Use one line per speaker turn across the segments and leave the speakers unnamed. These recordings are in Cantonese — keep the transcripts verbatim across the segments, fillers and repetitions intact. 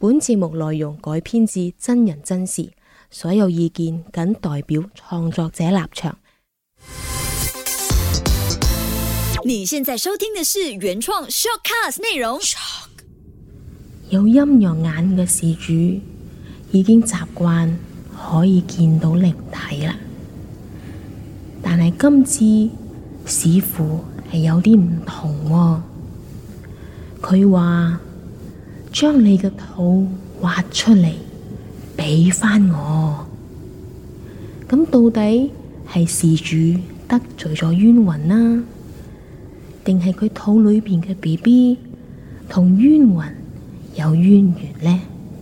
本節目內容改編自真人真事，所有意見僅代表創作者立場。
你現在收聽的是原創 Shortcast 內容。
有陰陽眼嘅事主已經習慣可以見到靈體啦，但係今次似乎係有啲唔同喎。佢話將你嘅肚挖出嚟俾返我，咁到底係事主得罪咗冤魂啦，定係佢肚裏邊嘅 B B 同冤魂有淵源呢？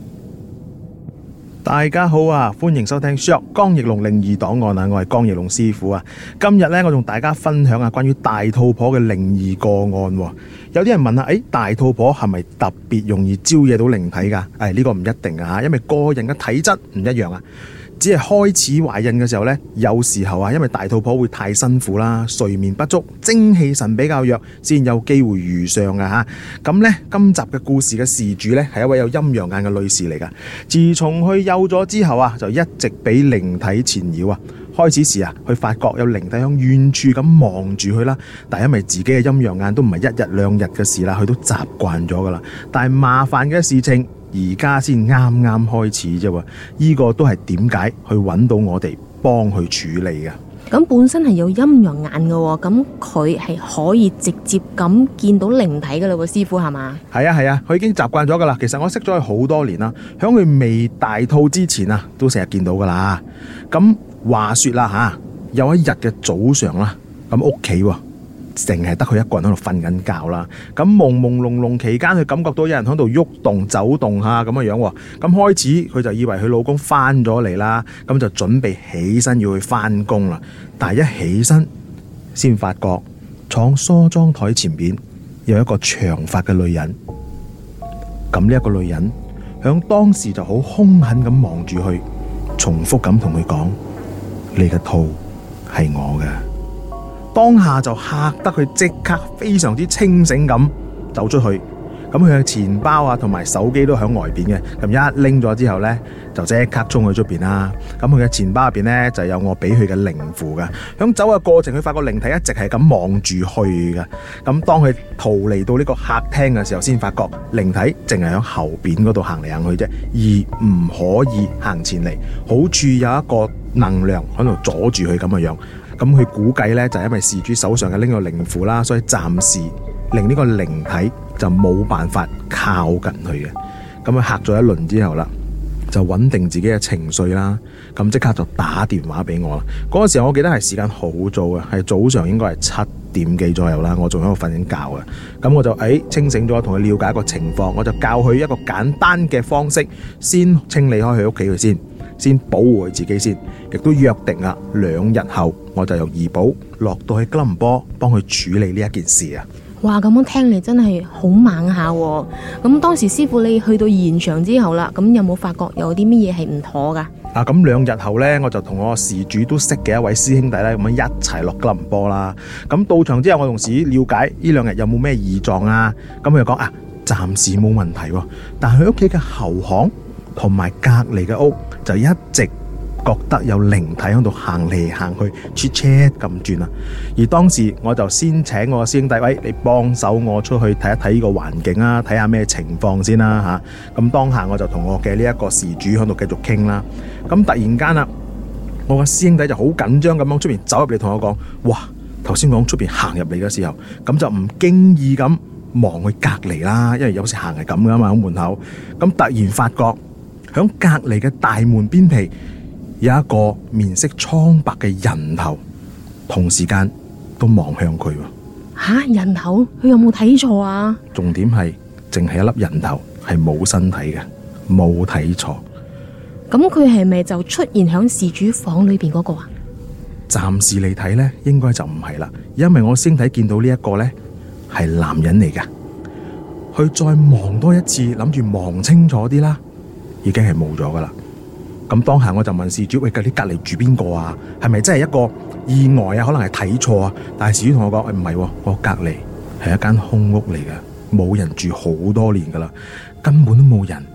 大家好啊，歡迎收聽 Short 江奕龍靈異檔案啊，我係江奕龍師傅啊。今日呢，我同大家分享下關於大肚婆嘅靈異個案。有啲人問啊，誒，大肚婆係咪特別容易招惹到靈體噶？誒，呢個唔一定啊，因為個人嘅體質唔一樣啊。只係開始懷孕嘅時候呢，有時候啊，因為大肚婆會太辛苦啦，睡眠不足，精氣神比較弱，先有機會遇上噶吓。咁呢，今集嘅故事嘅事主呢，係一位有陰陽眼嘅女士嚟噶。自從佢有咗之後啊，就一直俾靈體纏繞啊。開始時啊，佢發覺有靈體響遠處咁望住佢啦，但係因為自己嘅陰陽眼都唔係一日兩日嘅事啦，佢都習慣咗噶啦。但係麻煩嘅事情，而家先啱啱開始啫，呢個都係點解去揾到我哋幫佢處理嘅。
咁本身係有陰陽眼嘅，咁佢係可以直接咁見到靈體噶啦，師傅係嘛？係
啊係啊，佢已經習慣咗噶啦。其實我識咗佢好多年啦，響佢未大肚之前啊，都成日見到噶啦。咁話說啦吓，有一日嘅早上啦，咁屋企淨係得佢一個人喺度瞓緊覺啦，咁朦朦朧朧期間，佢感覺到有人喺度喐動走動下咁嘅樣，咁開始佢就以為佢老公翻咗嚟啦，咁就準備起身要去翻工啦。但係一起身，先發覺廠梳妝台前邊有一個長髮嘅女人。咁呢一個女人響當時就好兇狠咁望住佢，重複咁同佢講：你嘅肚係我嘅。當下就嚇得佢即刻非常之清醒咁走出去，咁佢嘅錢包啊同埋手機都響外邊嘅，咁一拎咗之後呢，就即刻衝去出邊啦。咁佢嘅錢包入邊呢，就有我俾佢嘅靈符噶。響走嘅過程，佢發覺靈體一直係咁望住去噶。咁當佢逃離到呢個客廳嘅時候，先發覺靈體淨係響後邊嗰度行嚟行去啫，而唔可以行前嚟，好似有一個能量喺度阻住佢咁嘅樣。咁佢估計呢，就係因為事主手上嘅呢個靈符啦，所以暫時令呢個靈體就冇辦法靠近佢嘅。咁佢嚇咗一輪之後啦，就穩定自己嘅情緒啦，咁即刻就打電話俾我啦。嗰個時候我記得係時間好早嘅，係早上應該係七點幾左右啦，我仲喺度瞓緊覺嘅。咁我就誒、哎、清醒咗，同佢了解一個情況，我就教佢一個簡單嘅方式，先清理開佢屋企佢先。先保護佢自己先，亦都約定啦，兩日後我就由怡保落到去吉隆坡幫佢處理呢一件事啊！
哇，咁樣聽嚟真係好猛下喎！咁當時師傅你去到現場之後啦，咁有冇發覺有啲乜嘢係唔妥噶？
啊，咁兩日後呢，我就同我事主都識嘅一位師兄弟咧，咁樣一齊落吉隆坡啦。咁到場之後，我同事了解呢兩日有冇咩異狀啊？咁佢就講啊，暫時冇問題，但係佢屋企嘅後巷同埋隔籬嘅屋就一直覺得有靈體喺度行嚟行去 ，chat chat 咁轉啊！而當時我就先請我師兄弟，喂，你幫手我出去睇一睇呢個環境啊，睇下咩情況先啦吓。咁、啊、當下我就同我嘅呢一個事主喺度繼續傾啦。咁突然間啊，我個師兄弟就好緊張咁樣出邊走入嚟同我講：哇！頭先講出邊行入嚟嘅時候，咁就唔經意咁望去隔籬啦，因為有時行係咁噶嘛，喺門口。咁突然發覺響隔籬嘅大門邊皮有一個面色蒼白嘅人頭，同時間都望向佢。
吓、啊，人頭？佢有冇睇錯啊？
重點係淨係一粒人頭，係冇身體嘅，冇睇錯。
咁佢係咪就出現響事主房裏邊嗰個啊？
暫時嚟睇呢，應該就唔係啦，因為我先睇見到呢一個呢係男人嚟㗎。佢再望多一次，諗住望清楚啲啦，已經係冇咗噶啦。咁當下我就問事主：喂，你隔籬住邊個啊？係咪真係一個意外啊？可能係睇錯啊？但係事主同我講：唔係，我隔籬係一間空屋嚟嘅，冇人住好多年噶啦，根本都冇人，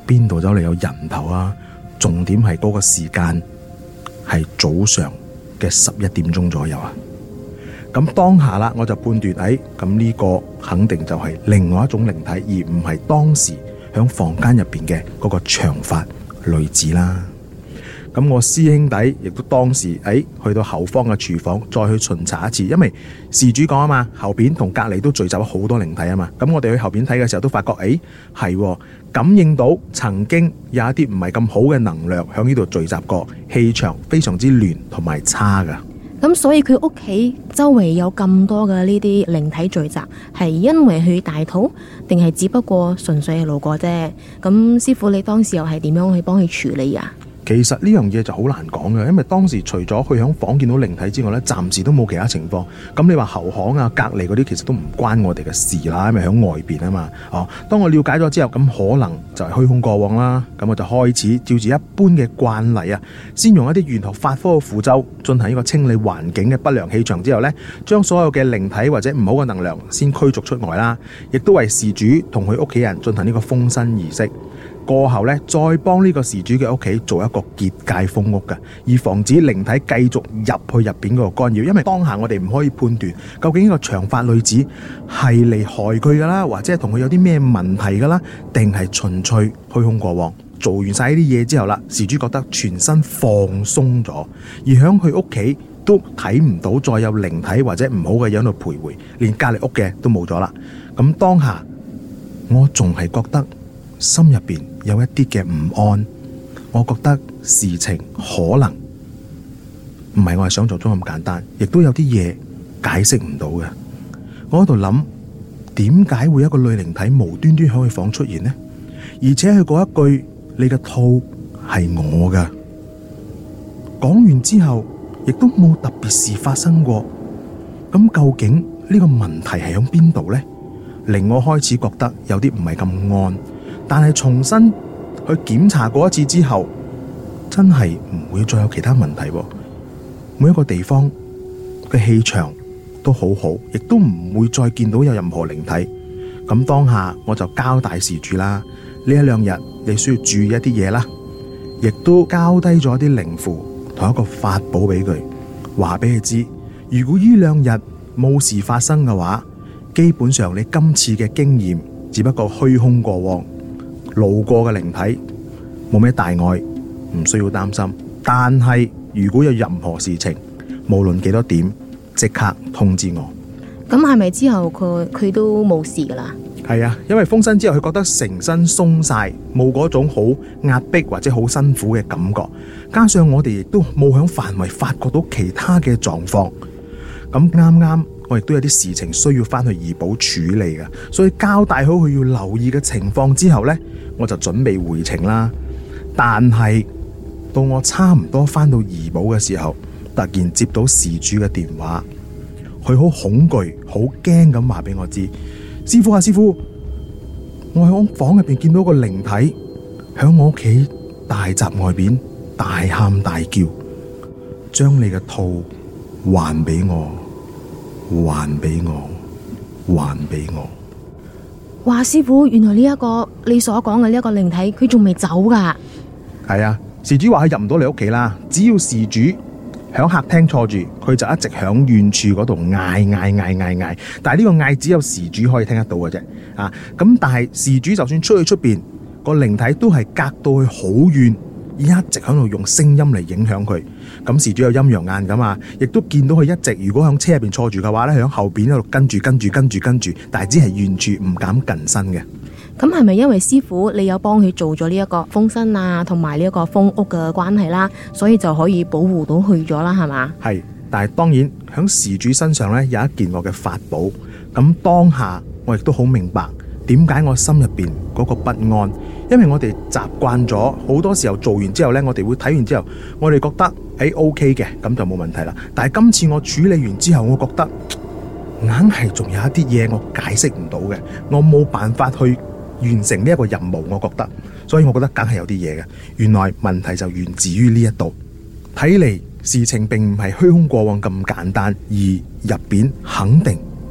邊度走嚟有人頭啊？重點係嗰個時間係早上嘅十一點鐘左右啊。咁當下啦，我就判斷，誒，咁呢個肯定就係另外一種靈體，而唔係當時響房間入邊嘅嗰個長髮女子啦。咁我師兄弟亦都當時誒去到後方嘅廚房再去巡查一次，因為事主講啊嘛，後邊同隔籬都聚集咗好多靈體啊嘛。咁我哋去後邊睇嘅時候都發覺，誒係感應到曾經有一啲唔係咁好嘅能量響呢度聚集過，氣場非常之亂同埋差噶。
咁所以佢屋企周圍有咁多嘅呢啲靈體聚集，係因為佢大肚，定係只不過純粹係路過啫？咁師傅你當時又係點樣去幫佢處理啊？
其實呢樣嘢就好難講嘅，因為當時除咗去響房見到靈體之外呢，暫時都冇其他情況。咁你話後巷啊、隔離嗰啲，其實都唔關我哋嘅事啦，因為響外邊啊嘛。哦，當我了解咗之後，咁可能就係虛空過往啦。咁我就開始照住一般嘅慣例啊，先用一啲玄學法科嘅符咒進行呢個清理環境嘅不良氣場之後呢，將所有嘅靈體或者唔好嘅能量先驅逐出外啦，亦都為事主同佢屋企人進行呢個封身儀式。過後呢，再幫呢個事主嘅屋企做一個結界封屋嘅，以防止靈體繼續入去入邊嗰個干擾。因為當下我哋唔可以判斷究竟呢個長髮女子係嚟害佢噶啦，或者係同佢有啲咩問題噶啦，定係純粹虛空過往。做完晒呢啲嘢之後啦，事主覺得全身放鬆咗，而響佢屋企都睇唔到再有靈體或者唔好嘅嘢喺度徘徊，連隔籬屋嘅都冇咗啦。咁當下我仲係覺得心入邊有一啲嘅唔安，我覺得事情可能唔係我係想象中咁簡單，亦都有啲嘢解釋唔到嘅。我喺度諗，點解會有一個女靈體無端端喺佢房出現呢？而且佢嗰一句你嘅肚係我噶，講完之後亦都冇特別事發生過。咁究竟呢個問題係響邊度呢？令我開始覺得有啲唔係咁安。但係重新去檢查過一次之後，真係唔會再有其他問題。每一個地方嘅氣場都好好，亦都唔會再見到有任何靈體。咁當下我就交代事主啦，呢一兩日你需要注意一啲嘢啦，亦都交低咗啲靈符同一個法寶俾佢，話俾佢知，如果呢兩日冇事發生嘅話，基本上你今次嘅經驗只不過虛空過往。路過嘅靈體冇咩大礙，唔需要擔心。但係如果有任何事情，無論幾多點，即刻通知我。
咁係咪之後佢佢都冇事噶啦？
係啊，因為封身之後，佢覺得成身鬆晒，冇嗰種好壓迫或者好辛苦嘅感覺。加上我哋亦都冇響範圍發覺到其他嘅狀況。咁啱啱我亦都有啲事情需要翻去怡保處理嘅，所以交代好佢要留意嘅情況之後呢，我就準備回程啦。但係到我差唔多翻到怡保嘅時候，突然接到事主嘅電話，佢好恐懼、好驚咁話俾我知：師傅啊，師傅，我喺我房入邊見到個靈體響我屋企大閘外邊大喊大叫，將你嘅肚還俾我。還俾我，還俾我。
哇，師傅，原來呢、這、一個你所講嘅呢一個靈體，佢仲未走噶。
係啊，事主話佢入唔到你屋企啦，只要事主響客廳坐住，佢就一直響遠處嗰度嗌嗌嗌嗌嗌。但係呢個嗌只有事主可以聽得到嘅啫。啊，咁但係事主就算出去出邊，個靈體都係隔到去好遠，一直喺度用聲音嚟影響佢。咁事主有陰陽眼噶嘛，亦都見到佢一直如果響車入邊坐住嘅話咧，響後邊喺度跟住跟住跟住跟住，但係只係遠處唔敢近身嘅。
咁係咪因為師傅你有幫佢做咗呢一個封身啊，同埋呢一個封屋嘅關係啦，所以就可以保護到佢咗啦，係嘛？係，
但係當然響事主身上咧有一件我嘅法寶，咁當下我亦都好明白點解我心入邊嗰個不安，因為我哋習慣咗好多時候做完之後呢，我哋會睇完之後，我哋覺得誒 OK 嘅，咁就冇問題啦。但係今次我處理完之後，我覺得硬係仲有一啲嘢我解釋唔到嘅，我冇辦法去完成呢一個任務，我覺得，所以我覺得梗係有啲嘢嘅。原來問題就源自於呢一度，睇嚟事情並唔係虛空過往咁簡單，而入邊肯定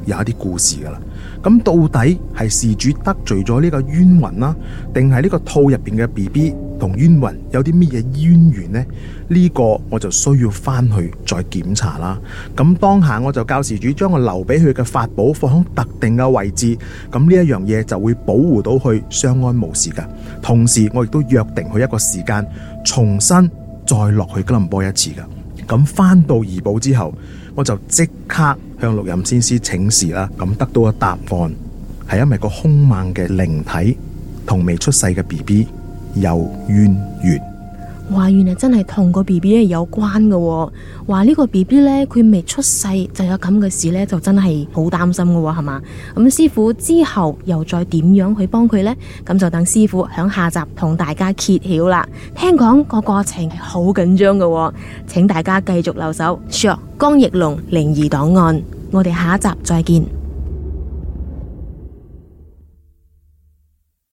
有一啲故事噶啦。咁到底係事主得罪咗呢個冤魂啦，定係呢個肚入邊嘅 B B 同冤魂有啲乜嘢淵源呢？呢個我就需要翻去再檢查啦。咁當下我就教事主將我留俾佢嘅法寶放喺特定嘅位置，咁呢一樣嘢就會保護到佢相安無事噶。同時我亦都約定佢一個時間，重新再落去吉隆坡一次噶。咁翻到怡保之後，我就即刻向六壬先師請示啦。咁得到嘅答案係因為個兇猛嘅靈體同未出世嘅 B B 有淵源。
話原來真係同個 B B 咧有關嘅喎。話呢個 B B 咧佢未出世就有咁嘅事咧，就真係好擔心嘅喎，係嘛？咁師傅之後又再點樣去幫佢呢？咁就等師傅響下集同大家揭曉啦。聽講個過程係好緊張嘅喎，請大家繼續留守。Sure， 江奕龍靈異檔案，我哋下一集再見。